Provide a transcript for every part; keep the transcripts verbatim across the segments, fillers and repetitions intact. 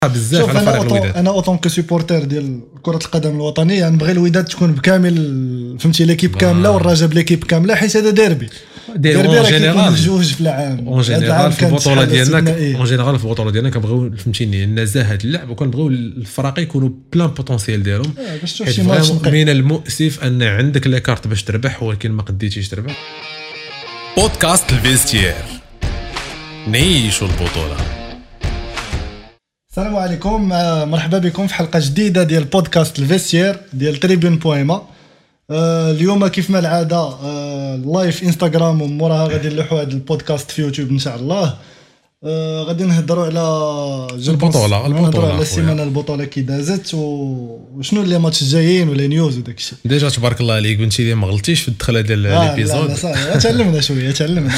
بزاف على فريق الوداد. انا اوطون كو سوبورتير ديال كره القدم الوطنيه نبغي الوداد تكون بكامل فهمتي ليكيب كامله والرجاء بليكيب كامله حيت هذا ديربي ديربي اون جينيرال جوج في العام اون جينيرال في البطوله ديالنا اون جينيرال في البطوله ديالنا كنبغيو فهمتيني نزاهه اللعب وكنبغيو الفرق يكونوا بلان بوتونسيال ديالهم. من المؤسف ان عندك لي كارت باش تربح ولكن ما قديتيش تربح. بودكاست الفيستير نعيشوا البطوله. السلام عليكم، مرحبا بكم في حلقه جديده ديال بودكاست الفيستير ديال تريبون بويما. آه اليوم كيف ما العاده آه لايف انستغرام وموراها غادي نلوحوا هذا البودكاست في يوتيوب ان شاء الله. آه غادي نهضروا على البطوله البطوله على السيمانه البطوله كي دازت وشنو اللي ماتش الجايين ولا نيوز وداك الشيء. ديجا تبارك الله عليك بنتي لي ما غلطيش في الدخله ديال ليبيزود. لا صافي تعلمنا شويه تعلمنا.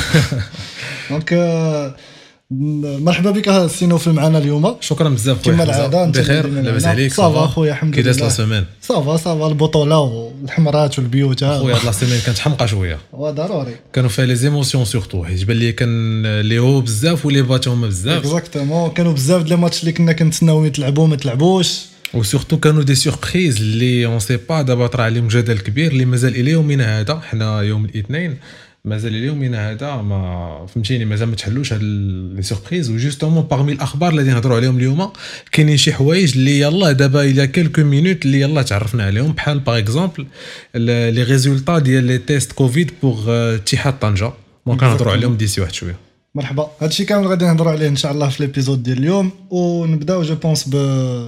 دونك آه مرحبا بك سي نوفل معنا اليوم. شكرا بزاف خويا. كما العاده بخير لاباس عليك؟ صافا خويا الحمد لله. كي داز لا سيمين؟ صافا صافا البطوله والحمرات والبيوت خويا. هاد لا سيمين كانت حمقه شويه. وضروري كانوا فيها لي زيموسيون سورتو حيت بان لي كان لي هو بزاف ولي بات هما بزاف. اكزاكتومون كانوا بزاف ديال الماتش اللي كنا كنتسناو يتلعبوا ما تلعبوش وسورتو كانوا دي سوربريز اللي اون سي با دابا طرا عليهم جدل كبير اللي مازال الى يومنا هذا. حنا يوم الاثنين مازال اليومنا هذا ما فهمتيني مازال ما تحلوش هاد لي سوربريز. وجوستومون باغمي الاخبار اللي نهضروا عليهم اليوم كاينين شي حوايج اللي يلا دابا الى كلكو مينوت اللي يلا تعرفنا عليهم بحال باغ اكزومبل لي ريزولطا ديال لي تيست كوفيد بوغ اتحاد طنجه. ممكن نهضروا عليهم ديسي واحد شويه. مرحبا. هادشي كامل غادي نهضروا عليه ان شاء الله في ليبيزود ديال اليوم. ونبداو جو بونس ب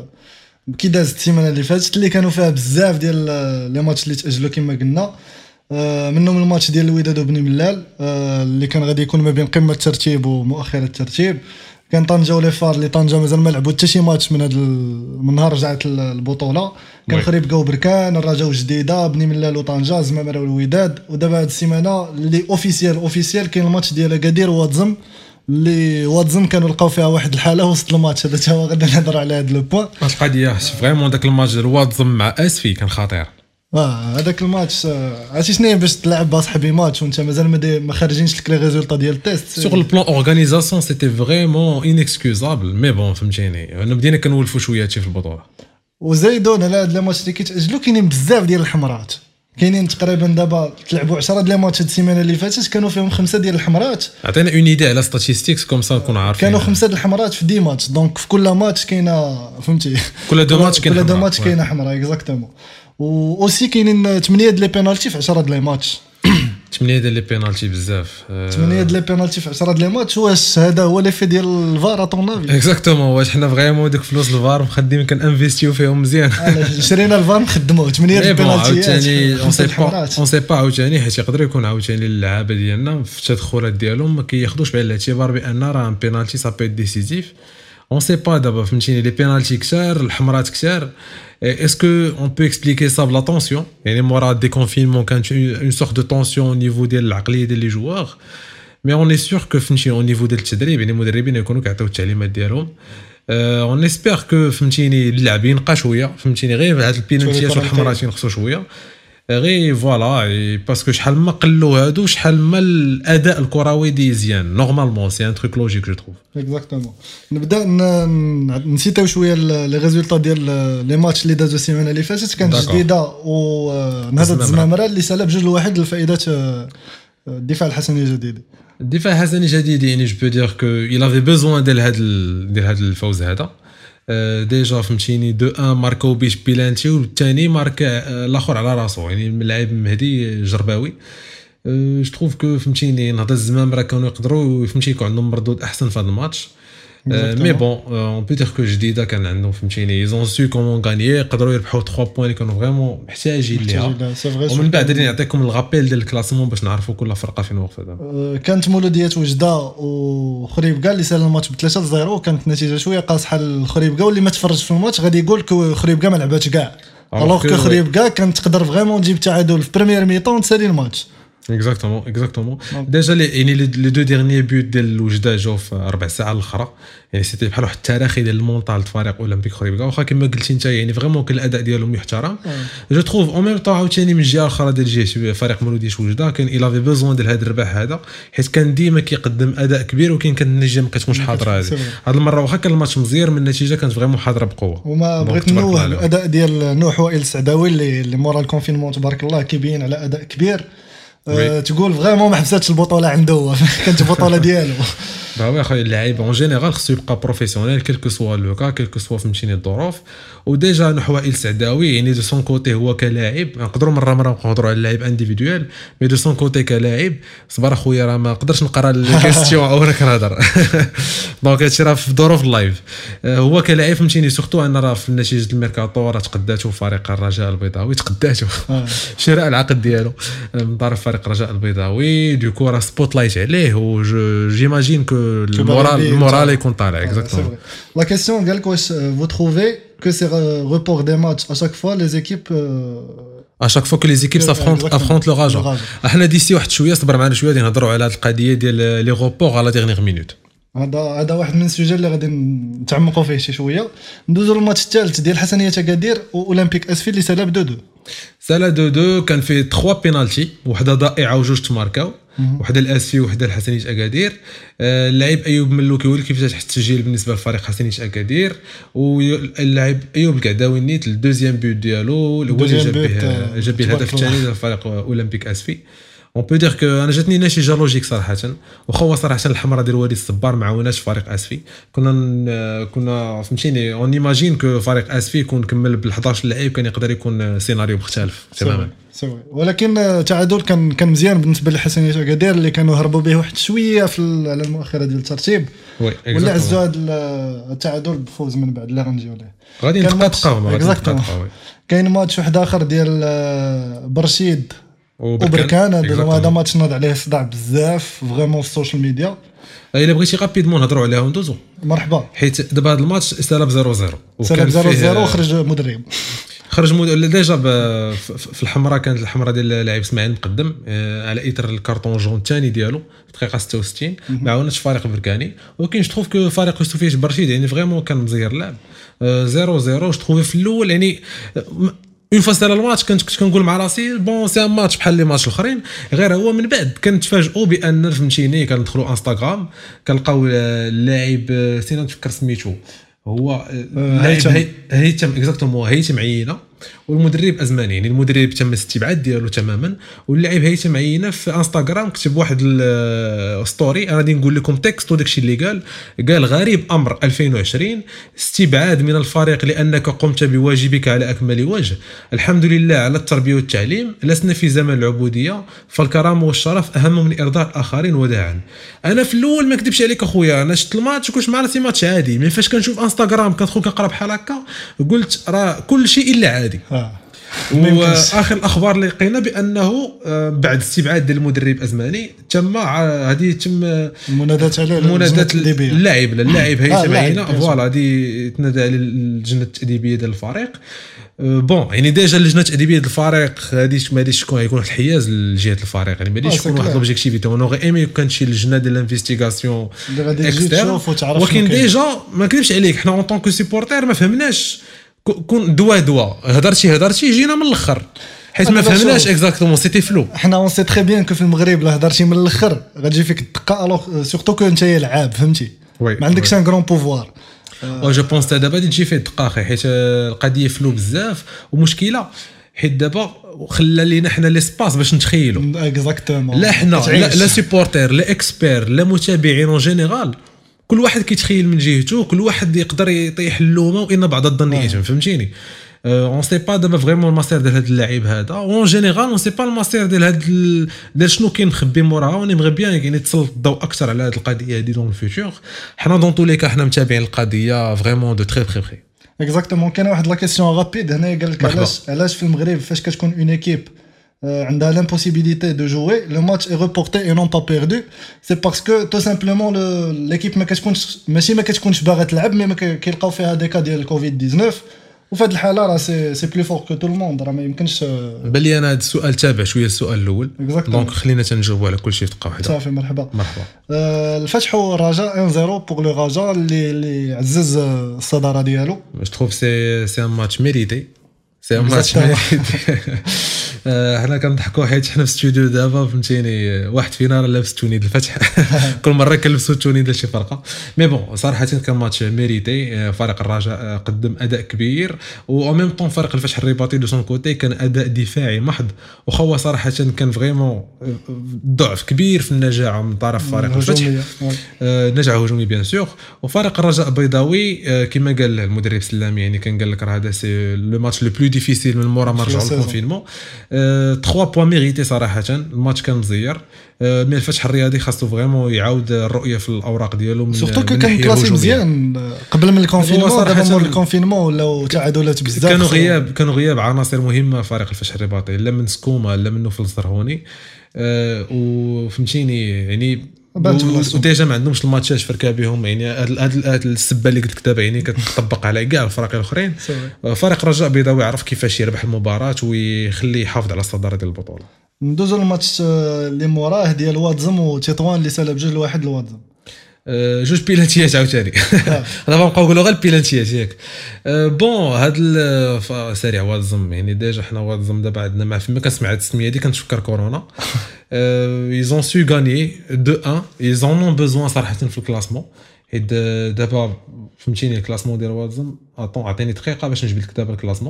كي دازت السيمانه اللي فاتت اللي كانوا فيها بزاف ديال لي ماتش اللي تاجلوا كما قلنا. آه منهم الماتش ديال الوداد وبني ملال آه اللي كان غادي يكون ما بين قمه الترتيب ومؤخره الترتيب. كان طنجه ولي فار اللي طنجه مازال ما لعبوا حتى شي ماتش من هذا من نهار رجعت البطوله. كان خريبكا وبركان الرجاء وجديده بني ملال وطنجه زمامره والوداد. ودابا هذه السيمانه اللي اوفيسيال اوفيسيال كاين الماتش ديال اكادير وواتزم اللي واتزم كانوا لقاو فيها واحد الحاله وسط الماتش. هذا تا هو غادي نهضر على هذا لو بوين. القضيه فريمون داك الماتش ديال واتزم مع اسفي كان خطير. اه هذاك الماتش عرفتي شنو باش تلعب باصحابي ماتش وانت مازال ما خارجينش لك لي ريزولطا ديال التيست. سوغ البلان اورغانيزاسيون سيتي فريمون انكسكوزابل مي بون فهمتيني انا بدينا كنولفوا شويه في البطوله. وزايدون على هاد لي ماتش اللي كيتاجلوا كاينين بزاف ديال الحمرات. كاينين تقريبا دابا تلعبوا عشرة ديال الماتش هاد السيمانه اللي فاتت كانوا فيهم خمسه ديال الحمرات. عطينا اون ايدي على ستاتيستيكس كوم سا نكون عارفين. كانوا خمسه ديال الحمرات في دي ماتش. دونك في كل ماتش كاينه فهمتي كل دو ماتش كاين كل دو ماتش كاينه حمراء اكزاكتومون. و اوسي كاينين ثمانية ديال لي بينالتي في عشرة ديال لي ماتش. ثمانية ديال لي بينالتي بزاف. ثمانية ديال لي بينالتي في عشرة ديال لي ماتش. واش هذا هو ليفي ديال الفار اطون نافي؟ اكزاكتومون. واش حنا فريمون ديك فلوس الفار مخدمين كنانفيستيو فيهم مزيان. شرينا الفار نخدموه ثمانية ديال البينالتي. عاوتاني اون سي با اون سي با عاوتاني حيت يقدر يكون عاوتاني اللعابه ديالنا في التدخلات ديالهم ما كياخذوش بعين الاعتبار بان راه بينالتي سا بي ديسيزيف. on sait pas دابا فهمتيني لي بينالتي كثار الحمرات كثار. est-ce que on peut expliquer ça la tension يعني مورا دي كونفينمون كانت une sorte de tension au niveau ديال العقليه ديال لي جوار. mais on est sûr que فهمتيني au niveau ديال التدريب يعني المدربين يكونوا كيعطيو التعليمات ديالهم. on espère que فهمتيني اللاعبين ينقى شويه فهمتيني غير هاد البينالتيات والحمرات ينقصوا شويه غير فوالا باسكو شحال ما قلوا هادو شحال ما الاداء الكروي ديزيان نورمالمون سي ان تروك لوجيك جو تروف. اكزاكتومون. نبدا نسيتو شويه لي ريزولطا ديال لي ماتش اللي دازو السيمانه اللي فاتت. كانت جديده ونهضت الزمامره اللي سالا بجوج لواحد لفائده الدفاع الحسني الجديد. الدفاع الحسني الجديد يعني جو بو دير كو il avait besoin ديال هذا ديال هذا الفوز هذا. ديجا فهمتيني دو ان ماركو بيش بيلانتي والثاني ماركا الاخر على راسو يعني اللاعب مهدي جرباوي. جو تروف كو فهمتيني نهضر الزمام راه كانوا يقدروا فهمتي يكون عندهم مردود احسن في هذا الماتش. مي بون اون بو دير كو جديده كان عندهم فهمتيني ايزون سو كومون غانيي يقدروا يربحوا ثلاثة بوين اللي كانوا فريمون محتاجين ليها. ومن بعد غادي نعطيكم الغابيل ديال الكلاسمون باش نعرفوا كل فرقه فين واقفه دابا. كانت مولوديه وجده وخريبكا اللي سال الماتش ب ثلاثة صفر. كانت النتيجه شويه قاصحه للخريبكا واللي ما تفرج في الماتش غادي يقول كو خريبكا ما لعباتش كاع. الوغ كو خريبكا كانت تقدر فريمون تجيب تعادل في بريمير ميطون وتسالي الماتش. اكزاكتومون اكزاكتومون ديجا يعني لي دو ديرنيي بوت ديال الوجده جاو في ربع ساعه الاخرى يعني سيتي بحال واحد التراخي ديال المونطال الفريق اولمبيك خريبكا واخا كما قلتي انت يعني فريمون كان الاداء ديالهم يحترم جو تروف اون ميم طون عاوتاني من الجهه الاخرى ديال جهه فريق مولوديش وجده كان الا في بوزون ديال هذا الرباح هذا حيت كان ديما كيقدم اداء كبير وكاين كانت النتيجه ما كتكونش حاضره هذه هذه المره واخا كان الماتش مزير من النتيجه كانت فريمون حاضره بقوه. وما بغيت نوه الاداء ديال نوح وائل السعداوي اللي اللي مورا الكونفينمون تبارك الله كيبين على اداء كبير. أه تقول فريمون ما حبساتش البطوله عنده كانت البطوله ديالو. با اخويا اللاعب اون جينيرال خصو يبقى بروفيسيونيل كلكو سوا لوكا كلكو سوا فهمتيني الظروف وديجا نحو وائل السعداوي يعني دو سون كوتي هو كلاعب نقدروا مره مره نقدروا على اللاعب انديفيدويل مي دو سون كوتي كلاعب صبر اخويا راه ما نقدرش نقرا الكيستيون او انا كنهضر دونك هادشي راه في ظروف اللايف هو كلاعب فهمتيني سورتو ان راه في نتيجه الميركاتو راه تقداتو فريق الرجاء البيضاوي تقداتو شراء العقد ديالو من طرف فريق الرجاء البيضاوي دوكو راه سبوت لايت عليه و جيماجين كو المورال المورال يكون طالع اكزاكتومون. لا كيسيون قال لك واش فو تروفي que ces reports des matchs à chaque fois les équipes à chaque fois que les équipes s'affrontent affrontent le Raja احنا ديسي واحد شويه صبر معنا شويه نهضروا على هذه القضيه ديال لي روبور على ديرنيير مينوت. هذا هذا واحد من السوجي اللي غادي نتعمقوا فيه شي شويه. ندوزوا للماتش الثالث ديال حسنيه اكادير واولمبيك اسفي اللي سالا ب اثنين اثنين سالا اثنين اثنين كان فيه ثلاثة بينالتي وحده ضائعه وجوج تماركاو وحده الاسفي وحده الحسنيه اكادير. اللاعب ايوب ملوكي هو اللي كيفتح التسجيل بالنسبه للفريق حسنيه اكادير واللاعب ايوب القعداوي نيت الدوزيام بوت ديالو الاول اللي جاب به جاب به الهدف الثاني للفريق اولمبيك اسفي. اون بو دير كو انا جاتني نتيجه لوجيك صراحه وخو صراحه الحمراء ديال وليد الصبار معاوناش فريق اسفي كنا كنا فهمتيني اون ايماجين كو فريق اسفي يكون كمل بال احد عشر لاعب كان يقدر يكون سيناريو مختلف تماما سوي ولكن تعادل كان كان مزيان بالنسبه لحسنيه اكادير اللي كانوا هربوا به واحد شويه في على المؤخره ديال الترتيب ولا عزوا هذا التعادل بفوز من بعد لا غنجيو ليه غادي نتقاطعوا غادي نتقاطعوا. كاين ماتش واحد اخر ديال برشيد وبركان هذا ماتش ناض عليه صداع بزاف فريمون في السوشيال ميديا. الا بغيتي غابيدمون نهضروا عليها وندوزو مرحبا حيت دابا هذا الماتش استلب صفر صفر وكان صفر صفر وخرج مدرب خرج مدرب ديجا في الحمراء كانت الحمراء ديال اللاعب اسماعيل مقدم على اثر الكارطون جون الثاني ديالو في الدقيقه ستة وستين ما عاونش فريق بركاني ولكن جو تروف كو فريق يوسفيش برشيد يعني فريمون كان مزير اللعب صفر صفر جو تروف في الاول يعني اون فاس على الماتش كنت كنت كنقول مع راسي بون سي ان ماتش بحال لي ماتش الاخرين غير هو من بعد كنتفاجئوا بان فهمتيني كندخلوا انستغرام كنلقاو اللاعب سينا نفكر سميتو هو اللاعب هيثم اكزاكتومون هيثم عيينه والمدرب ازماني يعني المدرب تم الاستبعاد ديالو تماما واللاعب هيثم عيينه في انستغرام كتب واحد الستوري انا غادي نقول لكم تكست وداكشي اللي قال قال غريب امر ألفين وعشرين استبعاد من الفريق لانك قمت بواجبك على اكمل وجه الحمد لله على التربيه والتعليم لسنا في زمن العبوديه فالكرامه والشرف اهم من ارضاء الاخرين وداعا. انا في الاول ما كذبش عليك اخويا انا شفت الماتش كنت مع راسي ماتش عادي مي فاش كنشوف انستغرام كندخل كنقرا بحال هكا قلت راه كل شيء الا عادي. واخر الاخبار اللي لقينا بانه بعد استبعاد ديال المدرب ازماني تم هذه تم المنادات على المنادات اللاعب اللاعب هيثم عيينه فوالا هذه تنادى على اللجنه التاديبيه ديال الفريق بون يعني ديجا اللجنه التاديبيه ديال الفريق هذه ما غاديش تكون يكون واحد الحياز لجهه الفريق يعني ما غاديش يكون واحد لوبجيكتيفيتي اون اوغي ايمي كان شي لجنه ديال الانفستيغاسيون ولكن ديجا ما نكذبش عليك حنا اون طونك سيبورتير ما فهمناش كون دوا دوا هضرتي هضرتي جينا من الاخر حيت ما فهمناش اكزاكتومون سيتي فلو. حنا اون سي تري بيان كو في المغرب لا هضرتي من الاخر غتجي فيك الدقه الوغ سورتو كو انت لعاب فهمتي ما عندكش ان غران بوفوار و جو بونس دابا غادي تجي فيه الدقه اخي حيت القضيه فلو بزاف ومشكله حيت دابا خلى لينا حنا ليسباس باش نتخيلوا اكزاكتومون لا حنا لا, لا سيبورتير لا اكسبير لا متابعين اون جينيرال كل واحد كيتخيل من جهته كل واحد يقدر يطيح اللومه وان بعض الظن يتم فهمتيني اون سي با دابا فريمون الماستر ديال هذا اللاعب هذا اون جينيرال اون سي با الماستر ديال هذا ديال شنو كاين مخبي موراها ونبغي بيان يعني تسلط الضوء اكثر على هذه القضيه هذه دون الفيتور حنا دون تو لي كا حنا متابعين القضيه فريمون دو تري تري تري اكزاكتومون. كاين واحد لا كيسيون رابيد هنا قال لك علاش علاش في المغرب فاش كتكون اون ايكيب عندها l'impossibilité de jouer le match est reporté et non pas perdu c'est parce que tout simplement l'équipe ما كتكونش ماشي ما كتكونش باغا تلعب مي ما كيلقاو فيها دي كا ديال كوفيد تسعطاش وفي هذه الحاله راه سي سي بلو فور كو تو الموند، راه ما يمكنش. بلي انا هذا السؤال تابع شويه السؤال الاول، دونك خلينا تنجاوبوا على كل شيء في دقه واحده. صافي مرحبا مرحبا. آه الفتح والرجاء واحد صفر بوغ لو رجاء اللي اللي عزز الصداره ديالو. جو تروف سي سي ان ماتش ميريتي، سي ان ماتش ميريتي. حنا كنضحكوا حيت حنا في الاستوديو دابا فهمتيني، واحد فينا راه لابس التونيد الفتح كل مره كنلبسوا التونيد ديال شي فرقه. مي بون صراحه كان ماتش ميريتي، فريق الرجاء قدم اداء كبير، و ميم طون فريق الفتح الرباطي دو سون كوتي كان اداء دفاعي محض، وخوا صراحه كان فريمون ضعف كبير في النجاعه من طرف فريق الفتح، نجاعه هجومي بيان سور. وفريق الرجاء البيضاوي كما قال المدرب سلامي، يعني كان قال لك راه هذا سي لو ماتش لو بلو ديفيسيل من مورا ما رجعوا للكونفينمون. ثلاثة بوان ميريتي صراحه، الماتش كان مزير. مي الفتح الرياضي خاصو فريمون يعاود الرؤيه في الاوراق ديالو، من سورتو كان كلاسي مزيان قبل من الكونفينمون، دابا مور الكونفينمون ولاو تعادلات بزاف، كانوا غياب كانوا غياب عناصر مهمه فريق الفتح الرباطي، لا من سكوما لا من نوفل الزرهوني. أه وفهمتيني يعني وديجا ما عندهمش الماتشات فركا بهم، يعني هاد السبه اللي قلت لك دابا يعني كتطبق على كاع الفرق الاخرين. فريق الرجاء البيضاوي عرف كيفاش يربح المباراه ويخلي يحافظ على الصداره ديال البطوله. ندوزو للماتش اللي موراه ديال واتزم وتطوان اللي سالب جوج لواحد لواتزم. أه جوج بيلانتيات عاوتاني دابا نبقاو نقولوا غير البيلانتيات ياك. أه بون هاد سريع واتزم، يعني ديجا حنا واتزم دابا عندنا مع فما كنسمع هاد التسميه هادي كنتفكر كورونا. أه ايزون سو غاني دو واحد، ايزون اون بوزوان صراحه في الكلاسمون، حيت دابا فهمتيني الكلاسمون ديال واتزم. اطون عطيني دقيقه باش نجبد لك دابا الكلاسمون.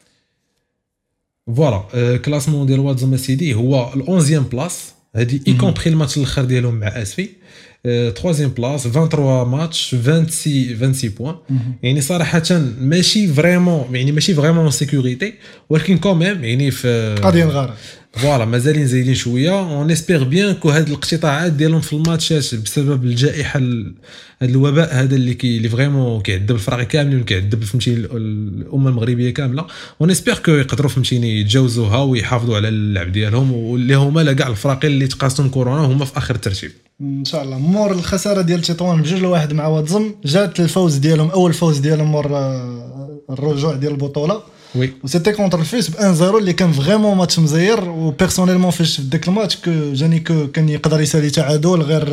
فوالا الكلاسمون ديال واتزم سيدي هو الأونزيام بلاس، هادي اي كومبري الماتش الاخر ديالهم مع اسفي. ثلاثيام بلاس ثلاثة وعشرين ماتش ستة وعشرين بوين، يعني صراحه ماشي فريمون يعني ماشي فريمون سيكوريتي، ولكن كوميم يعني في قاضيين غار فوالا مازالين زايدين شويه. اون اسبير بيان كو هاد الاقتطاعات ديالهم في الماتشات بسبب الجائحه، هاد الوباء هذا اللي كي اللي فريمون كيعذب الفرق كاملين وكيعذب فهمتيني الامه المغربيه كامله، اون اسبير كو يقدروا فهمتيني يتجاوزوها ويحافظوا على اللعب ديالهم، واللي هما لا كاع الفرق اللي تقاسم كورونا هما في اخر الترتيب ان شاء الله. مور الخساره ديال تطوان بجوج لواحد مع واتزم، جات الفوز ديالهم اول فوز ديالهم مور الرجوع ديال البطوله. وي وسيتي كونتر الفيس ب واحد صفر اللي كان فريمون ماتش مزير. وبيرسونيلمون فاش في داك الماتش كو جاني كو كان يقدر يسالي تعادل، غير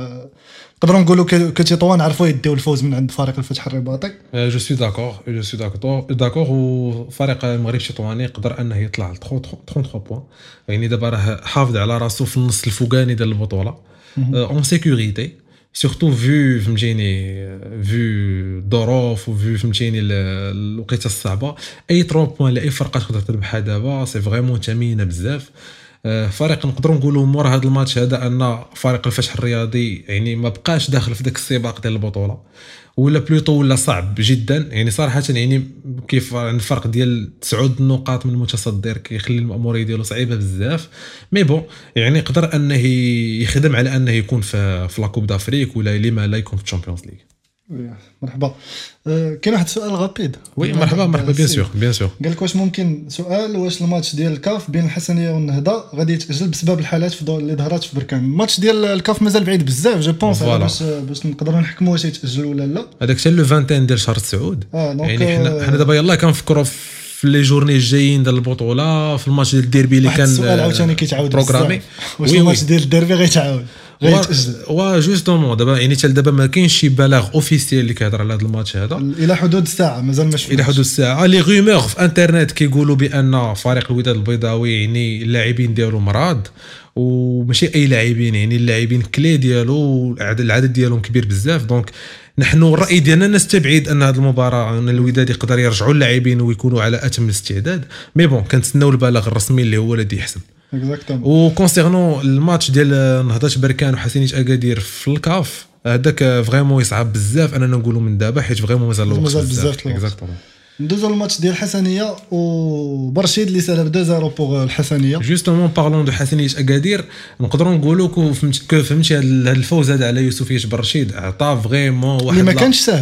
نقدروا نقولوا كو تطوان عرفوا يديو الفوز من عند فريق الفتح الرباطي. جو سوي داكور جو سوي داكور داكور وفريق المغرب التطواني يقدر انه يطلع ل ثلاثة وثلاثين بوين، يعني دابا راه حافظ على راسو في النص الفوقاني ديال البطوله اون سيكوريتي، سورتو فيو فهمتيني فيو ظروف وفيو فهمتيني الوقيته الصعبه. اي ثلاثة بوين لاي فرقه تقدر تربحها دابا سي فريمون ثمينه بزاف. فريق نقدروا نقولوا مور هذا الماتش هذا ان فريق الفتح الرياضي يعني ما بقاش داخل في داك السباق ديال البطوله، ولا بلوطو ولا صعب جدا، يعني صراحه يعني كيف الفرق ديال تسعود النقاط من المتصدر كيخلي الاموريه ديالو صعيبه بزاف. مي بون يعني يقدر انه يخدم على انه يكون في في لا كوب دافريك ولا لما لا يكون في الشامبيونز ليغ. مرحبا. أه كاين واحد السؤال غابيد. وي مرحبا مرحبا بيان سور بيان سور. قال لك واش ممكن سؤال واش الماتش ديال الكاف بين الحسنيه والنهضه غادي يتاجل بسبب الحالات اللي ظهرت في بركان؟ الماتش ديال الكاف مازال بعيد بزاف جو بونس باش باش نقدروا نحكموا واش يتاجل ولا لا. هذاك حتى لو واحد ديال شهر تسعود. آه يعني حنا حنا دابا يلاه كنفكروا في لي جورني الجايين ديال البطوله، في الماتش ديال الديربي اللي كان السؤال عاوتاني كيتعاود بروغرامي. واش الماتش ديال الديربي غيتعاود وا جوستومون دابا يعني حتى دابا ما كاينش شي بلاغ اوفيسيال اللي كيهضر على هذا الماتش هذا الى حدود الساعه مازال ما شفتش. الى حدود الساعه لي غومور في انترنت كيقولوا بان فريق الوداد البيضاوي يعني اللاعبين ديالو مرض، وماشي اي لاعبين، يعني اللاعبين كلي ديالو العدد ديالهم كبير بزاف. دونك نحن الراي ديالنا نستبعد ان هذه المباراه ان الوداد يقدر يرجعوا اللاعبين ويكونوا على اتم الاستعداد. مي بون كنتسناو البلاغ الرسمي اللي هو الذي يحسم. و كونسيرنون الماتش ديال نهضه بركان وحسينيه اكادير في الكاف هذاك فريمون يصعب بزاف اننا نقولوا من دابا، حيت فريمون مازال الوقت بزاف. اكزاكتومون. ندوزو الماتش ديال الحسنيه وبرشيد اللي سالب اثنين صفر بوغ الحسنيه. جوستومون بارلون دو حسنيه اكادير نقدروا نقولوا كو فهمتي هذا الفوز هذا على يوسفيه برشيد عطى فريمون واحد اللي ما كانش سهل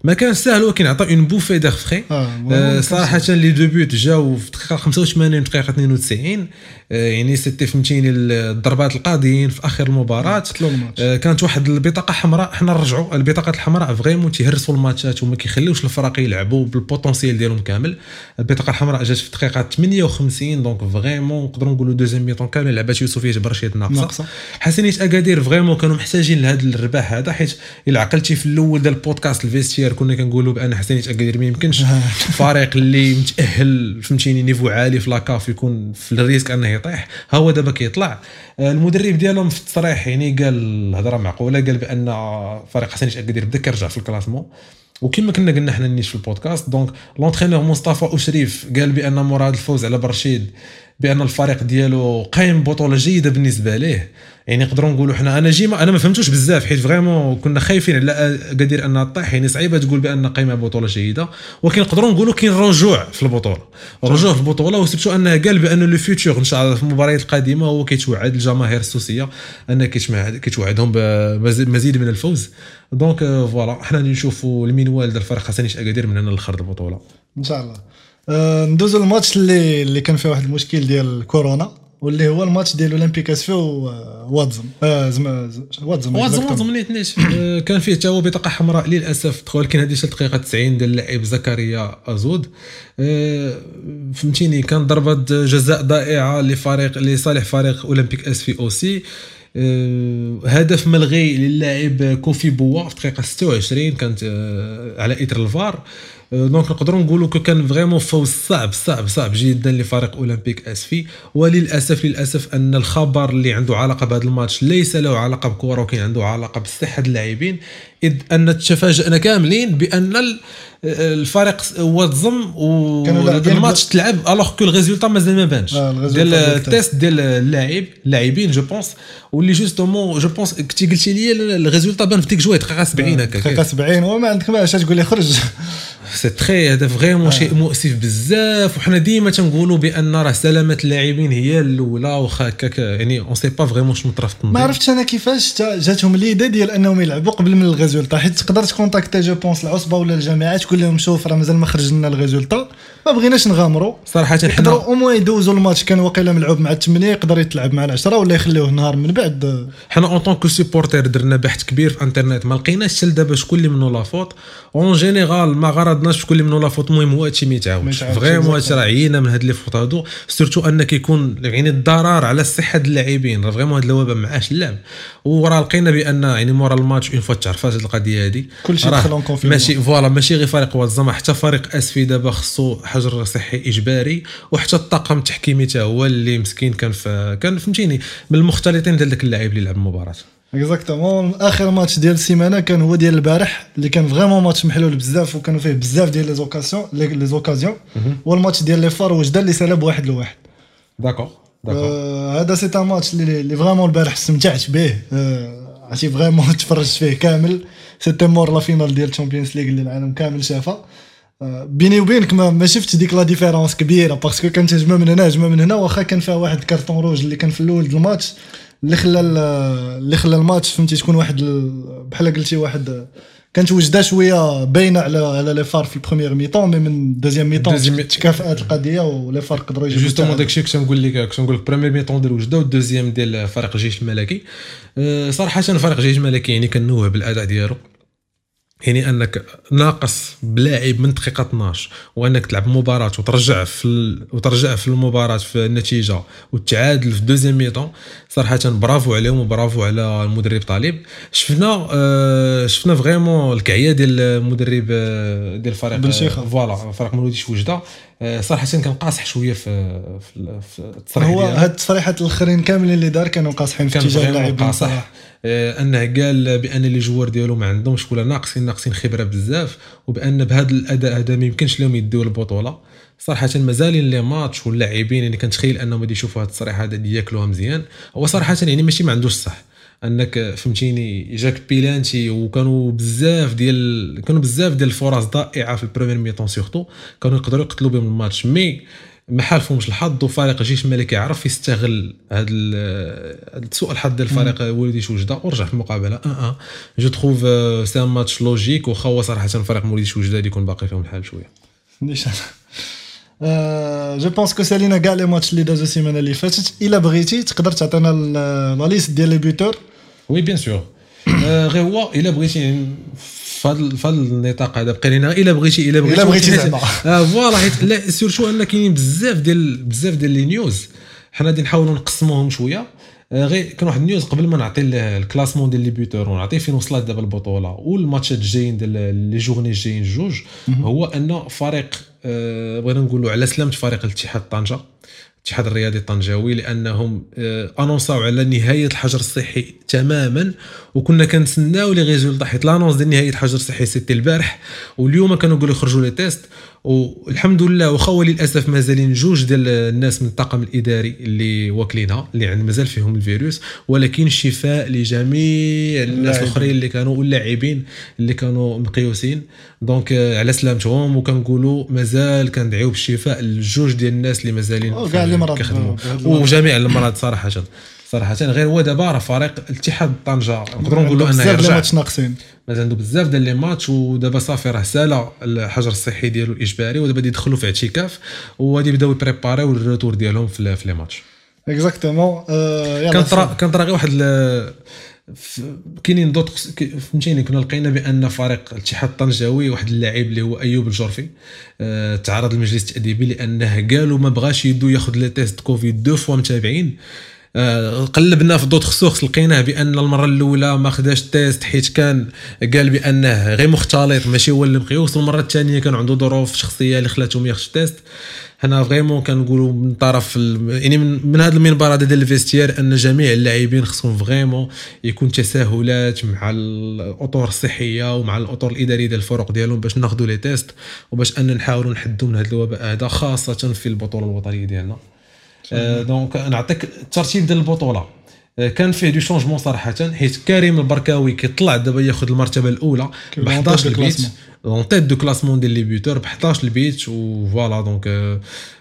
ما كان سهل ولكن عطى اون بوفي دير فري. آه صراحه لي دو بوت جاو في الدقيقه خمسة وثمانين دقيقه اثنين وتسعين. آه يعني سيتي فهمتيني الضربات القاضيين في اخر المباراه. آه كانت واحد البطاقه حمراء، حنا نرجعوا البطاقه الحمراء فريمون تيهرسوا الماتشات وما كيخليوش الفرق يلعبوا بالبوتونسيال ديالهم كامل. البطاقه الحمراء جات في الدقيقه ثمانية وخمسين دونك فريمون نقدروا نقولوا دوزيام ميطون كامل لعبات يوسفيه برشيد ناقصه. حسنيه اكادير فريمون كانوا محتاجين لهذا الرباح هذا، حيت الا عقلتي في الاول ديال البودكاست الفيستير كنا كنقولوا بان حسنيه اكادير ما يمكنش فريق اللي متاهل فهمتيني نيفو عالي في لاكاف يكون في الريسك انه يطيح. ها هو دابا كيطلع. المدرب ديالهم في التصريح يعني قال الهضره معقوله، قال بان فريق حسنيه اكادير بدا كيرجع في الكلاسمون، وكما كنا قلنا حنا نيش في البودكاست. دونك لونترينور مصطفى أشريف قال بان مراد الفوز على برشيد بان الفريق ديالو قايم بطوله جيده بالنسبه ليه. يعني نقدروا نقولوا حنا انا جيما انا ما فهمتوش بزاف حيت فريمون كنا خايفين على قادر انها طيح. يعني صعيبه تقول بان قايمه بطوله جيده، ولكن نقدروا نقولوا كاين رجوع في البطوله رجوع في البطوله وسبتو انه قال بان لو فيوتور ان شاء الله في المباريات القادمه هو كيتوعد الجماهير السوسيه انه كيتوعدهم بمزيد من الفوز. دونك فوالا حنا نشوفوا المنوال ديال الفريق حسنيه اكادير من هنا لخرج البطوله ان شاء الله. أه ندوزو الماتش اللي اللي كان فيه واحد المشكل ديال كورونا، واللي هو الماتش ديال اولمبيك اسفو واتزم اه زعما واتزم واتزم واتزم نيتنيش. كان فيه حتى هو بطاقه حمراء للاسف دخل، ولكن هذه شي دقيقه تسعين ديال اللاعب زكريا ازود. أه فهمتيني كان ضربه جزاء ضائعه لفريق لصالح فريق اولمبيك اسفي اوسي. أه هدف ملغي للاعب كوفي بوا في الدقيقه ستة وعشرين كانت أه على اثر الفار. دونك نقدروا نقولوا كان فريمون فوز صعب صعب صعب جدا لفريق اولمبيك اسفي. وللاسف للاسف ان الخبر اللي عنده علاقه بهذا الماتش ليس له علاقه بكره، وكان عنده علاقه بصحه اللاعبين، اذ ان تفاجئنا كاملين بان الفريق واتزم والماتش تلعب الوغ كو الريزولطا مازال ما بانش ديال التيست ديال اللاعب اللاعبين جو بونس. واللي جوستومون جو بونس كنتي قلتي لي الريزولطا بان في ديك جويه دقيقه سبعين هكا دقيقه سبعين وما عندك ما اش تقول لي خرج. سي تري هذا فريمون شيء مؤسف بزاف. وحنا ديما تنقولوا بان راه سلامه اللاعبين هي الاولى، واخا هكاك يعني اون سي با فريمون شنو طرا في التنظيم. ما عرفتش انا كيفاش جاتهم ليدي ديال انهم يلعبوا قبل من الريزولطا، حيت تقدر تكونتاكتي جو بونس العصبه ولا الجامعات تقول لهم شوف راه مازال ما خرج لنا الريزولطا، ما بغيناش نغامروا صراحه. حنا او مو يدوزوا الماتش كان واقيلا ملعوب مع الثمانية يقدر يتلعب مع العشرة ولا يخليوه نهار من بعد. حنا اون طونك سيبورتير درنا بحث كبير في انترنت ما لقيناش حتى دابا شكون اللي منو لافوت اون جينيرال، ما غرضناش شكون اللي منو لافوت. المهم هو هادشي ما يتعاودش فريمون، هادشي راه عينا من هاد لي فوت هادو سورتو ان كيكون يعني الضرر على الصحه اللاعبين. راه فريمون هاد الوباء ما عاش اللعب، وراه لقينا بان يعني مورا الماتش اون فوا تعرفات هاد القضيه هادي كلشي دخل اون كونفينمون. ماشي فوالا ماشي غير فريق واتزم، حتى فريق اسفي دابا خصو حجر صحي اجباري، وحتى الطاقم التحكيمي حتى هو اللي مسكين كان في كان فهمتيني من المختلطين ديال داك اللاعب اللي لعب المباراه. اكزاكتومون اخر ماتش ديال السيمانه كان هو ديال البارح اللي كان فريمون ماتش محلول بزاف وكانوا فيه بزاف ديال لي زوكاسيون لي زوكازيون هو الماتش ديال لي فار وجده اللي سالب واحد لواحد. داكور داكور هذا سي ان ماتش اللي اللي فريمون البارح استمتعت به، عرفتي فريمون تفرجت فيه كامل. سيتي مور لا فينال ديال الشامبيونز ليغ اللي العالم كامل شافها. بيني وبينك ما, ما شفتش ديك لا ديفيرونس كبيره باسكو كانت هجمه من هنا هجمه من هنا، واخا كان فيها واحد الكارطون روج اللي كان في الاول ديال الماتش اللي خلى اللي خلى الماتش فهمتي تكون واحد بحال قلتي واحد كانت وجده شويه باينه على على لي فار في البريمير ميطون، مي من دوزيام ميطون تكافات القضيه ولي فار قدروا يجيبوا جوستومون داكشي كنت نقول لك كنت نقول لك بريمير ميطون ديال وجده والدوزيام ديال فريق الجيش الملكي. أه صراحه فريق الجيش الملكي يعني كنوه بالاداء ديالو، يعني انك ناقص بلاعب من دقيقه اثناش وانك تلعب مباراه وترجع في ال... وترجع في المباراه في النتيجه وتعادل في دوزيام ميطون. صراحه برافو عليهم وبرافو على المدرب طالب. شفنا آه شفنا فريمون الكعيه ديال المدرب ديال الفريق فوالا فريق مولوديش وجده. آه صراحه كان قاصح شويه في في, في التصريح هو هاد التصريحات الاخرين كاملين اللي دار كانوا قاصحين في اتجاه اللاعبين صح. آه انه قال بان لي جوار ديالو ما عندهمش ولا ناقصين ناقصين خبره بزاف، وبان بهذا الاداء هذا ما يمكنش لهم يديو البطوله. صراحه مازالين لي ماتش واللاعبين يعني كنتخيل انهم غادي يشوفوا هذا التصريح هذا اللي ياكلوها مزيان. هو صراحه يعني ماشي ما عندوش صح انك فهمتيني جاك بيلانتي وكانوا بزاف ديال كانوا بزاف ديال الفرص ضائعه في البريمير ميطون سورتو كانوا يقدروا يقتلوا بهم الماتش، مي ما حالفهمش الحظ وفريق الجيش الملكي عرف يستغل هذا سوء الحظ ديال الفريق وليدي شوجده ورجع في المقابله اه اه جو تروف سي ان ماتش لوجيك وخا هو صراحه فريق وليدي شوجده اللي يكون باقي فيهم الحال شويه نيشان جو بونس كو سالينا كاع لي ماتش اللي دازو السيمانه اللي فاتت الا بغيتي تقدر تعطينا لا ليست ديال لي بيوتور وي بيان سور غير هو الا بغيتي فهاد فهاد النطاق هذا بقى لينا الا بغيتي الا بغيتي الا بغيتي زعما اه فوالا حيت لا سيرتو ان كاينين بزاف ديال بزاف ديال لي نيوز حنا غادي نحاولوا نقسموهم شويه غير كان واحد النيوز قبل ما نعطي الكلاسمون ديال لي بيوتور ونعطي فين وصلت دابا البطوله والماتشات الجايين ديال لي جورني الجايين جوج هو ان فريق بغينا نقولوا على سلامه فريق الاتحاد طنجه الاتحاد الرياضي الطنجاوي لانهم انونساو على نهايه الحجر الصحي تماما وكنا كنتسناو لي ريزولطا حيت لانونس ديال نهايه الحجر الصحي سيتي البارح واليوم كانوا يقولوا يخرجوا لي تيست والحمد لله واخا للاسف مازالين جوج ديال الناس من الطاقم الاداري اللي واكلينها اللي عند مازال فيهم الفيروس ولكن شفاء لجميع الناس الاخرين اللي كانوا واللاعبين اللي كانوا مقيوسين دونك على سلامتهم وكنقولوا مازال كندعيو بالشفاء لجوج ديال الناس اللي مازالين كيخدموا وجميع المرض صراحه صراحه غير هو دابا راه فريق الاتحاد طنجه نقدروا نقولوا انه يرجع ماتش ناقصين مازال عنده بزاف ديال لي ماتش ودابا صافي راه سالا الحجر الصحي ديالو الاجباري ودابا يدخلوا في اعتكاف وغادي يبداو يبريباريو الروتور ديالهم في لي ماتش اكزاكتومون كنطرا كنطرا غير واحد كاينين دوط فهمتيني كنا لقينا بان فريق الاتحاد الطنجاوي واحد اللاعب اللي هو ايوب الجرفي أه تعرض للمجلس التاديبي لانه قالوا ما بغاش يدو ياخذ لي تيست كوفيد دو فوا متابعين أه قلبنا في دوط خصوص لقيناه بان المره الاولى ما خداش تيست حيت كان قال بانه غير مختلط ماشي هو اللي مقيوس والمره الثانيه كان عنده ظروف شخصيه اللي خلاتهم ياخذ تيست حنا فريمون كنقولوا من طرف يعني من, من هذا المنبر هذا ديال الفيستير ان جميع اللاعبين خصهم فريمون يكون تساهلات مع الاطر الصحيه ومع الاطر الاداريه ديال الفرق ديالهم باش ناخذوا لي تيست وباش ان نحاولوا نحدوا من هذا الوباء هذا خاصه في البطوله الوطنيه ديالنا آه دونك نعطيك الترتيب ديال البطوله آه كان فيه دو شونجمون صراحه حيت كريم البركاوي كيطلع دابا ياخذ المرتبه الاولى ب حداش البيت اون تيت دو كلاسمون ديال لي بيوتور ب حداش البيت وفوالا دونك آه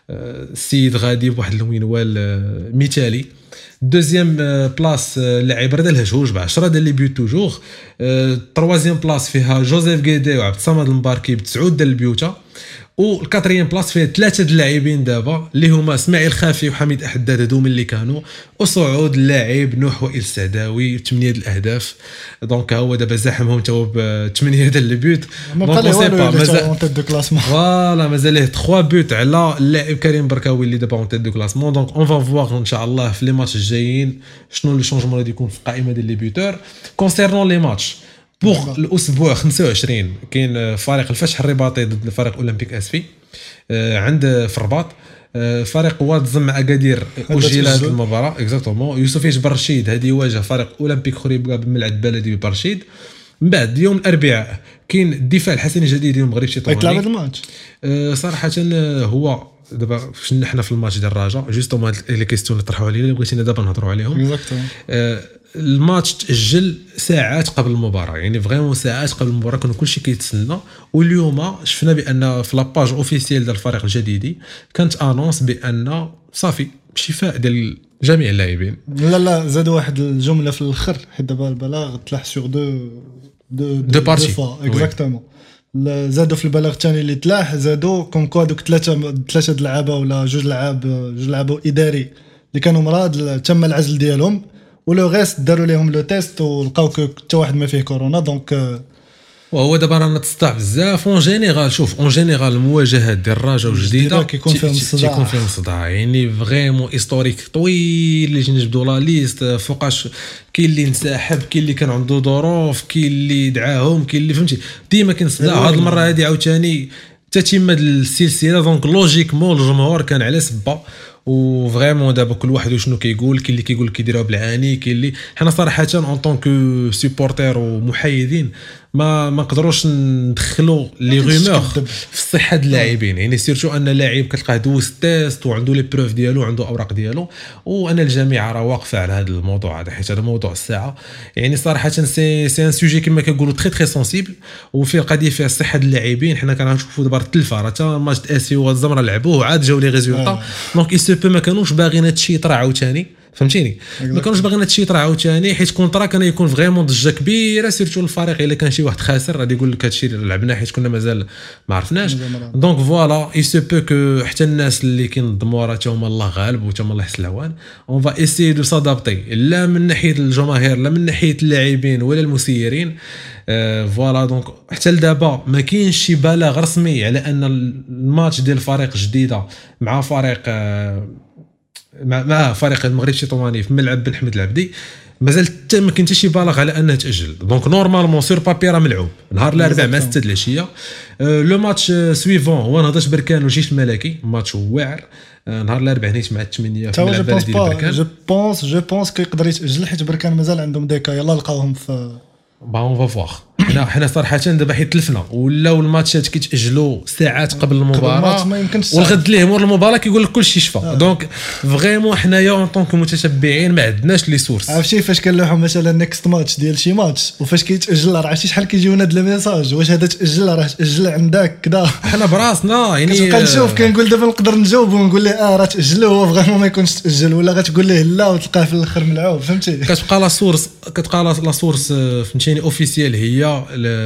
السيد غادي بواحد المنوال آه مثالي دوزيام بلاص لاعب رد الهجوج ب عشرة ديال لي بيوت توجور تروازيام بلاص فيها جوزيف غيدي وعبد الصمد المباركي بتسعة ديال البيوتا والكاتريام بلاص فيها ثلاثه د اللاعبين دابا اللي هما اسماعيل خافي وحميد احداد هادو من اللي كانوا وصعود اللاعب نوح وائل السعداوي ثمانيه د الاهداف دونك هو دابا زاحمهم تو ب ثمانيه ديال البيوت دونك سي با مازال اون تيت دو كلاسمون فوالا مازال له ثلاثة بيوت على اللاعب كريم بركاوي اللي دابا اون تيت دو كلاسمون دونك اون فا فوار ان شاء الله في لي ماتش الجايين شنو لي شونجمون اللي يكون في القائمه ديال لي بيوتور كونسيرنون لي ماتش بوغ الاسبوع خمسة وعشرين كاين فريق الفتح الرباطي ضد فريق اولمبيك اسفي عند في الرباط فريق واد زم اكادير اجل هذه المباراه اكزاكتومون يوسف يجبر رشيد هذه يواجه فريق اولمبيك خريبكا بالملعب بلدي ببرشيد من بعد يوم الاربعاء كاين الدفاع الحسني الجديد ديال المغرب التطواني يتلعب هذا الماتش صراحه هو دابا فاش حنا في الماتش ديال الرجاء جوستومون لي كيستيون اللي طرحوا علينا اللي بغيتينا دابا نهضروا عليهم اكزاكتومون الماتش تاجل ساعات قبل المباراه يعني فريمون ساعات قبل المباراه كان كلشي كيتسنى واليوم شفنا بان في لاباج اوفيسيال ديال الفريق الجديدي كانت انونس بان صافي شفاء ديال جميع اللاعبين لا لا زادوا واحد الجمله في الاخر حيت دابا البلاغ تلاح سور دو دو دو بارتي اكزاكتومون زادوا في البلاغ الثاني اللي تلاح زادوا كوم كوا دوك ثلاثه ثلاثه د اللعابه ولا جوج لعاب جوج لعابه اداري اللي كانوا مرض تم العزل ديالهم ولو غيست داروا لهم لو تيست ولقاو حتى واحد ما فيه كورونا دونك وهو دابا رانا تصدع بزاف اون جينيرال شوف اون جينيرال المواجهات ديال الرجاء وجديده كيكون فيهم الصداع كيكون فيهم الصداع يعني فريمون هيستوريك طويل اللي نجبدوا لا ليست فوقاش كاين اللي انسحب كاين اللي كان عنده ظروف كاين اللي دعاهم كاين اللي فهمتي ديما كاين صداع هذه المره هذه عاوتاني تتم السلسله دونك لوجيكمون الجمهور كان على سبه وفريمون دابا كل واحد وشنو كيقول. كاين اللي كيقول كيديروها بالعاني، كاين اللي حنا صراحه اون طونك سيبورتير ومحايدين ما ما نقدروش ندخلوا لي رومور في الصحه ديال اللاعبين. يعني سيرتو ان اللاعب كتلقاه دوز تيست وعنده لي بروف ديالو وعنده اوراق ديالو، وانا الجميع راه واقفه على هذا الموضوع هذا حيت هذا موضوع الساعه. يعني صراحه سي سي ان سوجي كما كنقولوا تري تري سونسيبل، وفي القضيه فيها الصحه ديال اللاعبين. حنا كنشوفوا دابا التلفه راه حتى ماتش اسي والزمره لعبوه وعاد جاو لي ريزولطا. دونك اي سو بو ما كانوش باغيين هادشي يطرا عاوتاني، فهمتيني؟ ما كانوش باغيين هادشي يطرا عاوتاني حيت كونطرا كان يكون فريمون ضجه كبيره سيرتو الفريق الا كان شي واحد خاسر غادي يقول لك هادشي اللي لعبنا حيت كنا مازال ما عرفناش. دونك فوالا اي سو بو كو حتى الناس اللي كينظموا راه هما الله غالب وتا هما الله يحسن العوان. اون فا ايسي دو سادابتي لا من ناحيه الجماهير لا من ناحيه اللاعبين ولا المسيرين. أه فوالا دونك حتى لدابا ما كاينش شي بلاغ رسمي على ان الماتش ديال فريق جديده مع فريق أه مع, مع فريق المغرب التطواني في ملعب بن حمد العبدي مازال حتى ما كاين حتى شي بلاغ على انه تاجل. دونك نورمالمون سور بابي راه ملعوب نهار الاربعاء مع ستة د العشيه. أه لو ماتش سويفون هو نهضه بركان والجيش الملكي، ماتش واعر نهار الاربعاء نيت مع الثمانيه في ملعب بلدي بركان. جو بونس جو بونس كيقدر يتاجل حيت بركان مازال عندهم ديكا يلا لقاوهم في با اون فا فواغ. حنا حنا صراحه دابا حيت تلفنا ولاو الماتشات كيتاجلوا ساعات قبل المباراه والغد ليه مور المباراه كيقول لك كلشي شفا. دونك فريمون حنايا اون طونك متتبعين ما عندناش لي سورس. عرفتي فاش كنلوحوا مثلا نيكست ماتش ديال شي ماتش وفاش كيتاجل راه عرفتي شحال كيجيونا د الميساج واش هذا تاجل راه تاجل عندك كذا. حنا براسنا يعني كتبقى نشوف كنقول دابا نقدر نجاوب ونقول له اه راه تاجل هو فريمون ما يكونش تاجل ولا غتقول ليه لا وتلقاه في الاخر ملعوب فهمتي. كتبقى لا سورس كتبقى لا سورس فهمتيني اوفيسيال هي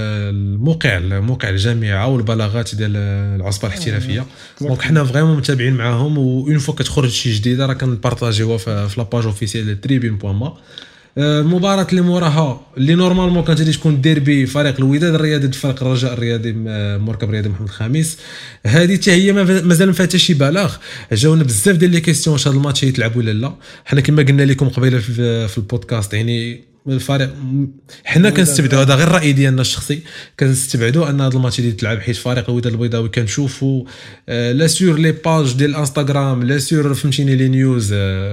الموقع الموقع الجامعه والبلاغات ديال العصبه الاحترافيه. دونك حنا فريمون متابعين معاهم واون فوا كتخرج شي جديده راه كنبارطاجيوها في لاباج اوفيسيال ديال تريبين بوان ما. المباراه اللي موراها اللي نورمالمون كانت غادي تكون ديربي فريق الوداد الرياضي ضد فريق الرجاء الرياضي مركب رياضي محمد الخامس، هذه حتى هي مازال ما فيها حتى شي بلاغ. جاونا بزاف ديال لي كيسيون واش هذا الماتش يتلعب ولا لا. حنا كما قلنا لكم قبيله في البودكاست يعني الفريق حنا كنستبعدوا هذا غير الراي ديالنا الشخصي كنستبعدوا ان هذا الماتش اللي يتلعب حيت فريق الوداد البيضاوي كنشوفوا لا سور لي باج ديال الانستغرام لا سور فهمتيني لي نيوز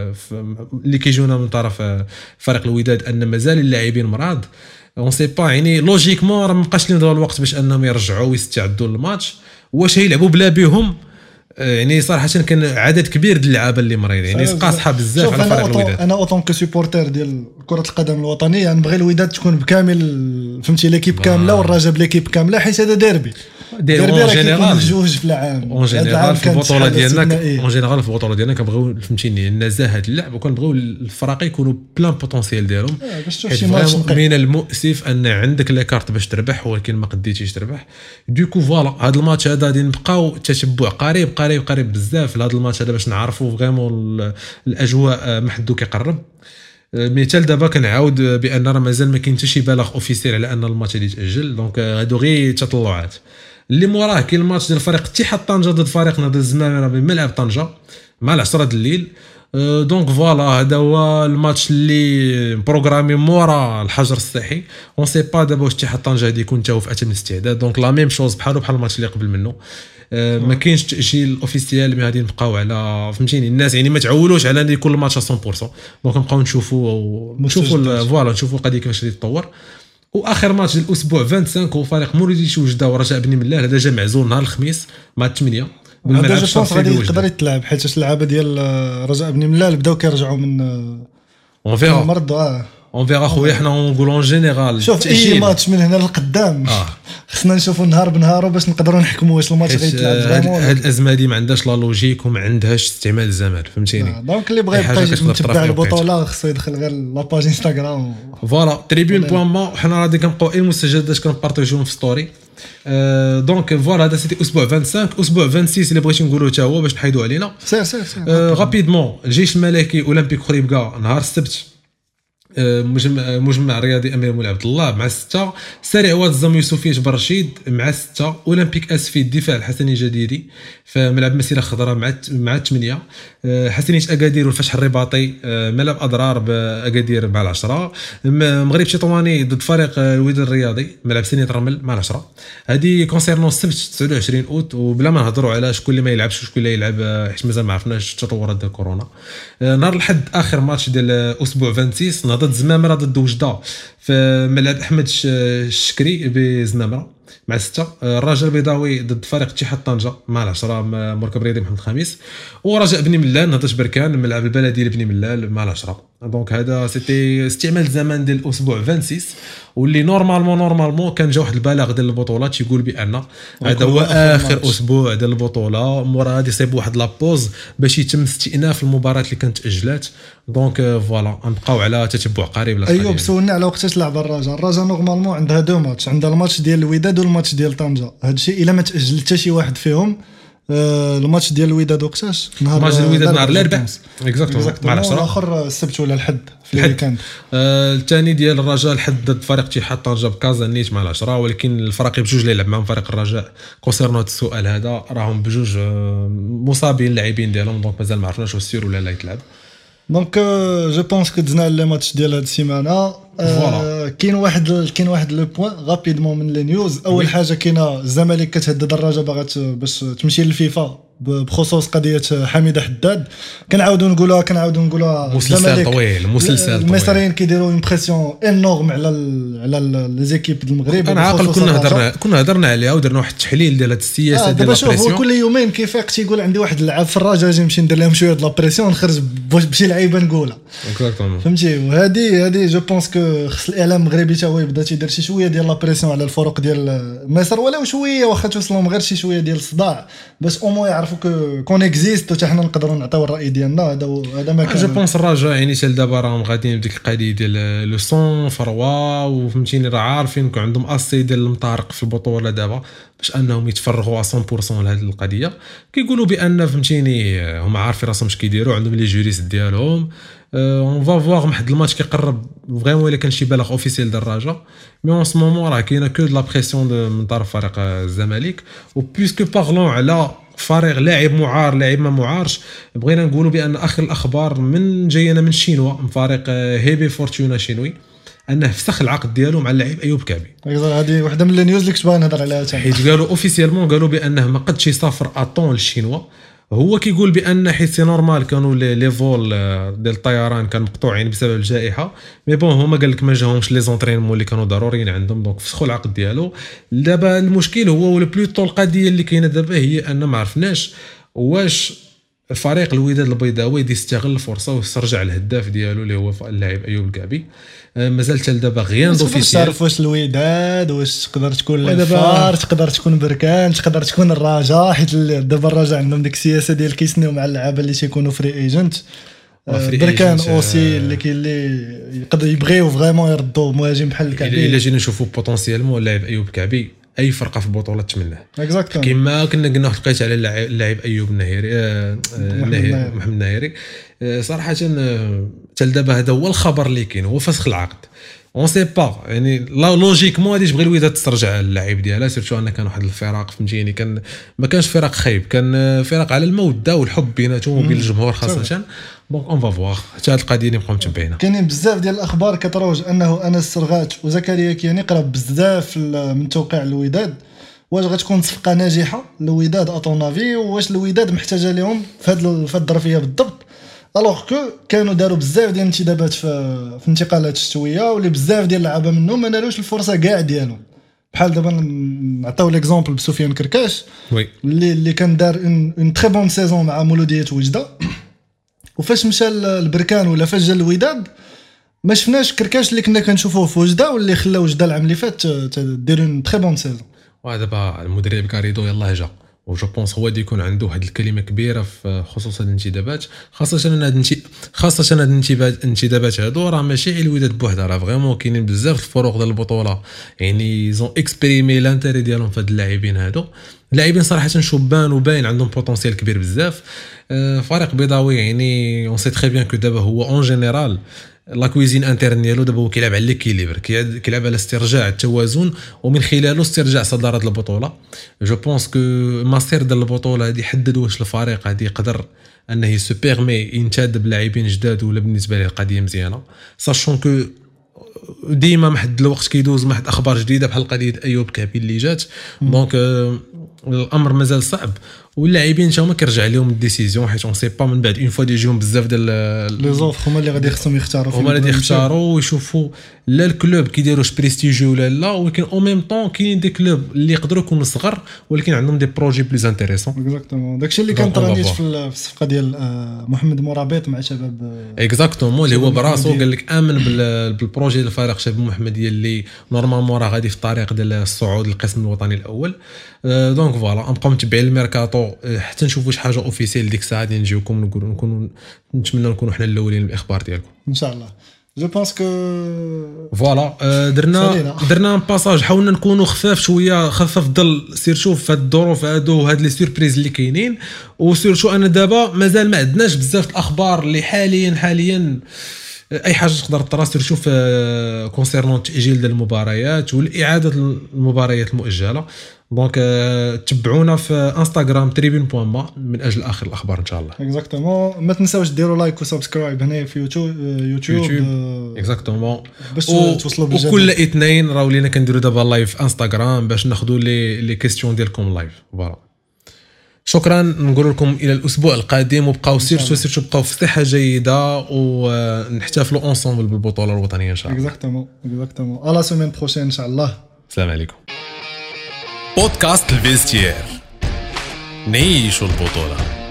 اللي كيجونا من طرف فريق الوداد ان مازال اللاعبين مراد. اون سي با يعني لوجيكمون راه مابقاش لهم الوقت باش انهم يرجعوا ويستعدوا للماتش. واش هيلعبوا بلا بهم يعني صراحه كان عدد كبير ديال اللعابه اللي مريضين يعني قاصحه بزاف على فريق الوداد. انا اوطون كو سوبورتر ديال كره القدم الوطنيه نبغي الوداد تكون بكامل فهمتي ليكيب كامله والرجاء بليكيب كامله حيت هذا ديربي ديربي اون جينيرال جوج في العام اون جينيرال في البطوله ديالنا اون جينيرال في البطوله ديالنا كنبغيو فهمتيني النزاهه اللعب وكنبغيو الفرق يكونوا بلان بوتونسييل ديالهم. من المؤسف ان عندك لي كارت باش تربح ولكن ما قديتيش تربح. دوكو فوالا هذا الماتش هذا غادي نبقاو تتبع قريب قريب قريب بزاف لهذا الماتش هذا باش نعرفوا فريمون الاجواء محدو كيقرب. مثال دابا كنعاود بان راه مازال ما كاين حتى شي بلاغ اوفيسيال على ان الماتش اللي يتاجل. دونك هادو غير تطلعات. اللي موراه كاين الماتش ديال فريق اتحاد طنجه ضد فريق نهضه الزمامره بملعب طنجه مع العشرة د الليل. دونك فوالا هذا هو الماتش اللي بروغرامي مورا الحجر الصحي. اون سي با دابا واش اتحاد طنجه غادي يكون حتى هو في اتم الاستعداد. دونك لا ميم شوز بحالو بحال الماتش اللي قبل منه. ما كاينش تاجيل اوفيسيال مي غادي نبقاو على فهمتيني الناس يعني ما تعولوش على ان يكون الماتش مية بالمية. دونك نبقاو نشوفوا نشوفوا فوالا نشوفوا القضيه كيفاش غادي تطور. واخر ماتش ديال الاسبوع خمسة وعشرين هو فريق مولوديه وجده ورجاء بني ملال. هذا جا معزول نهار الخميس مع الثمانية بالملعب الشرفي غادي يقدر يتلعب حيت اللعابه ديال رجاء بني ملال بداو كيرجعوا من اون فيغا المرض. اه اون فيغا خويا حنا نقولوا اون جينيرال شوف اي ماتش من هنا للقدام آه. خصنا نشوفوا نهار بنهارو باش نقدروا نحكموا واش الماتش غيتلعب فريمون. هاد الازمه دي ما عندهاش لا لوجيك وما عندهاش استعمال الزمان فهمتيني. آه. دونك اللي بغى يبقى يتبع البطوله خصو يدخل غير لاباج انستغرام فوالا تريبيون بوان ما. حنا غادي كنبقاو اي مستجدات كنبارطاجيوهم في ستوري. أه دونك فوالا هذا سيتي اسبوع خمسة وعشرين. اسبوع ستة وعشرين اللي بغيتي نقولوا حتى هو باش نحيدوا علينا سير سير سير أه غابيدمون الجيش الملكي اولمبيك خريبكا نهار السبت مجمع مجمع رياضي امير مولاي عبد الله مع ستة، سريع واد الزم يوسفية برشيد مع ستة، اولمبيك اسفي الدفاع الحسني جديدي فملعب مسيره خضراء مع مع ثمانية، حسنيه اكادير والفتح الرباطي ملعب اضرار باكادير مع العشرة، مغرب تطواني ضد فريق الوداد الرياضي ملعب سنية رمل مع العشرة. هذه كونسيرنون السبت تسعة وعشرين اوت، وبلا ما نهضروا على شكون اللي ما يلعبش وشكون اللي يلعب حيت مازال ما عرفناش التطورات ديال كورونا. نهار الحد اخر ماتش ديال اسبوع ستة وعشرين نهضه زمامره ضد وجده في ملعب احمد الشكري بزمامره مع ستة، الرجاء البيضاوي ضد فريق اتحاد طنجة مع العشرة مركب رياضي محمد الخامس، ورجاء بني ملال نهضه بركان ملعب البلدي لبني ملال مع العشرة. دونك هذا سيتي استعمال الزمان ديال الاسبوع ستة وعشرين واللي نورمالمون نورمالمون كان جا واحد البلاغ ديال البطولات يقول بان هذا هو اخر اسبوع ديال البطوله، مورا غادي يصيب واحد لابوز باش يتم استئناف المباريات اللي كانت تاجلات. دونك فوالا نبقاو على تتبع قريب للقضيه. ايوب سولنا على وقتاش لعب الرجاء. الرجاء نورمالمون عندها دو ماتش، عندها الماتش ديال الوداد والماتش ديال طنجة. هذا الشيء الا ما تاجل حتى شي واحد فيهم آه الماتش ديال الوداد وقتاش؟ نهار ماتش الوداد نهار الاربعاء اكزاكتومون مع العشرة، الاخر السبت ولا الحد في الويكاند. الثاني آه ديال الرجاء الحد ضد فريق اتحاد طنجة بكازا نيت مع العشرة، ولكن الفريق بجوج اللي يلعب معهم فريق الرجاء كونسيرنو هذا السؤال هذا راهم بجوج آه مصابين اللاعبين ديالهم، دونك مازال ما عرفناش واش سير ولا لا يتلعب. دونك جو بونس كو دزنا لي ماتش ديال هاد السيمانه. آه كاين واحد كاين واحد لو بوين غابيدمون من لي نيوز. اول حاجه كاينه الزمالك كتهدد الرجاء باغا باش تمشي للفيفا بخصوص قضيه حميده حداد. كنعاودوا نقولوها كنعاودوا نقولوها مسلسل طويل مسلسل طويل. المصريين كيديروا امبرسيون انورم على على لي زيكيب د المغرب. انا عاقل كنا هضرنا كنا هضرنا عليها ودرنا واحد التحليل ديال هاد السياسه ديال البريسيون. هو كل يومين كيفيق تيقول عندي واحد اللعاب في الرجاء اجي نمشي ندير لهم شويه د لابريسيون نخرج بشي لعيبه نقولها فهمتي. وهذه هذه جو بونس كو خص الاعلام المغربي حتى هو يبدا تيدير شي شويه ديال لابريسيون على الفرق ديال مصر ولو شويه واخا توصلهم غير شي شويه ديال الصداع باش او مو يعرفوا كو كون اكزيست وتا حنا نقدروا نعطيو الراي ديالنا. هذا هذا ما كان. جو بونس الرجاء يعني حتى دابا راهم غاديين بديك القضيه ديال لو سون فروا وفهمتيني راه عارفين كون عندهم اسي ديال المطارق في البطوله دابا باش انهم يتفرغوا مية بالمية لهذه القضيه. كيقولوا بان فهمتيني هما عارفين راسهم اش كيديروا عندهم لي جوريست ديالهم. اون فا فواغ واحد الماتش كيقرب فريمون الا كان شي بالغ اوفيسيال ديال الرجاء مي اون سو مومون راه كاينه كو لا بريسيون من طرف فريق الزمالك. و بويسكو بارلون على فريق لاعب معار لاعب ما معارش بغينا نقولوا بان اخر الاخبار من جاينا من شينوا من فريق هيبي فورتونا شينوي انه فسخ العقد ديالو مع اللاعب ايوب كعبي. هذه وحده من النيوز اللي كنت باغي نهضر عليها حيت قالوا اوفيسيالمون قالوا بانه ما قدش يسافر اطون للشينوا. هو كيقول بان حيت سي نورمال كانوا لي فول ديال الطيران كانوا مقطوعين بسبب الجائحه مي بون هما قال لك ما جاهمش لي زونطرينمون اللي كانوا ضروريين عندهم دونك فسخوا العقد ديالو. دابا المشكل هو ولا بلوتو القضيه اللي كاينه دابا هي ان ما عرفناش واش فريق الوداد البيضاوي يدي يستغل الفرصه ويسترجع الهداف ديالو اللي هو اللاعب ايوب الكعبي. مازال حتى دابا غيان دوفيسيال. تعرف واش الوداد واش تقدر تكون الفار تقدر تكون بركان تقدر تكون الرجاء حيت دابا الرجاء عندهم ديك السياسه ديال كيسنيو مع اللعابه اللي تيكونوا فري ايجنت. بركان اوسي اللي كاين اللي يقدر يبغيو فريمون يردوا مهاجم بحال الكعبي. الا جينا نشوفوا بوتونسيالمون اللاعب ايوب الكعبي اي فرقه في البطوله تمناه اكزاكتومون كما كنا قلنا واحد القيت على اللاعب ايوب النهيري آه النهيري محمد النهيري آه صراحه حتى دابا هذا هو الخبر اللي كاين هو فسخ العقد. اون سي با يعني لا لوجيكمون غادي تبغي الوداد تسترجع اللاعب ديالها سيرتو ان كان واحد الفراق فهمتيني كان ما كانش فراق خايب كان فراق على الموده والحب بيناتهم وبين الجمهور خاصه. دونك اون فا فوار حتى هاد القضيه اللي نبقاو متبعينها. كاينين بزاف ديال الاخبار كتروج انه انس السرغات وزكريا كياني قرب بزاف من توقيع الوداد. واش غتكون صفقه ناجحه الوداد اطونافي واش الوداد محتاجه لهم في هاد في الظرفيه بالضبط الوغ كو كانوا داروا بزاف ديال الانتدابات في في انتقالات الشتويه واللي بزاف ديال اللعابه منهم ما نالوش الفرصه كاع ديالهم بحال دابا نعطيو ليكزامبل بسفيان كركاش وي اللي اللي كان دار اون تري بون سيزون مع مولوديه وجده وفاش مشى البركان ولا فاش جا الوداد ما شفناش كركاش اللي كنا كنشوفوه في وجده واللي خلى وجده العام اللي فات دير اون تري بون سيزون. ودابا المدرب كاريدو يلاه جا وجو بونس هو دي يكون عنده واحد الكلمه كبيره في خصوص الانتدابات خاصه ان هاد خاصه هاد الانتدابات هادو راه ماشي الوداد بوحدها راه فريمون كاينين بزاف الفروق ديال البطوله يعني زون اكسبريمي لانتيري ديالهم في هاد اللاعبين هادو. اللاعبين صراحه شبان وباين عندهم بوتونسيال كبير بزاف. فريق بيضاوي يعني اون سي تري بيان كو دابا هو اون جينيرال لا كويزين انترن ديالو دابا هو كيلعب على ليكيليبر كيلعب على استرجاع التوازن ومن خلاله استرجاع صداره البطوله. جو بونس كو ماستر ديال البطوله هذه حدد واش الفريق هذه يقدر انه يسو بيرمي ينتدب لاعبين جداد ولا بالنسبه ليه القضيه مزيانه ساشون كو ديما محد الوقت كيدوز محد اخبار جديده بحال قضيه ايوب كابي اللي جات دونك الامر مازال صعب واللاعبين حتى هما كيرجع لهم الديسيزيون حيت اون سي با من بعد اون فوا ديجيهم بزاف ديال لي زوف هما اللي غادي خصهم يختاروا هما اللي يختاروا ويشوفوا لا الكلوب كيديروش بريستيجيو ولا لا ولكن او ميم طون كاينين دي كلوب اللي يقدروا يكونوا صغر ولكن عندهم دي بروجي بليز انتريسون. اكزاكتومون داكشي اللي كان طرانيت في الصفقه ديال محمد مرابط مع شباب اكزاكتومون اللي هو براسو قال لك امن بالبروجي ديال الفريق شباب محمديه اللي نورمالمون راه غادي في الطريق ديال الصعود للقسم الوطني الاول. دونك فوالا نبقاو متبعين الميركاتو حتى نشوفوا شي حاجه اوفيسيال ديك الساعه غادي نجيوكم نقولوا نكونوا نتمنى نكونوا حنا الاولين بالاخبار ديالكم ان شاء الله. جو بونس كو فوالا درنا درنا باساج حاولنا نكونوا خفاف شويه خفاف ضل سير شوف في هاد الظروف هادو وهاد لي سوربريز اللي كاينين وسير شو انا دابا مازال ما عندناش بزاف الاخبار اللي حاليا حاليا اي حاجه تقدر تراسل شوف كونسيرنون تاجيل ديال المباريات والاعاده المباريات المؤجله. دونك تبعونا في انستغرام تريبون بوان ما من اجل اخر الاخبار ان شاء الله. اكزاكتومون ما تنساوش ديروا لايك وسبسكرايب هنا في يوتيوب يوتيوب اكزاكتومون باش توصلوا بالجديد. وكل اثنين راهو لينا كنديروا دابا لايف انستغرام باش ناخذوا لي لي كيسيون ديالكم لايف. فوالا شكرا نقول لكم الى الاسبوع القادم وبقاو سيرتو سيرتو بقاو في صحه جيده ونحتفلوا اونصومبل بالبطوله الوطنيه ان شاء الله. اكزاكتومون اكزاكتومون على سيمين بروشين ان شاء الله. السلام عليكم. بودكاست الفيستير نعيشوا البطوله.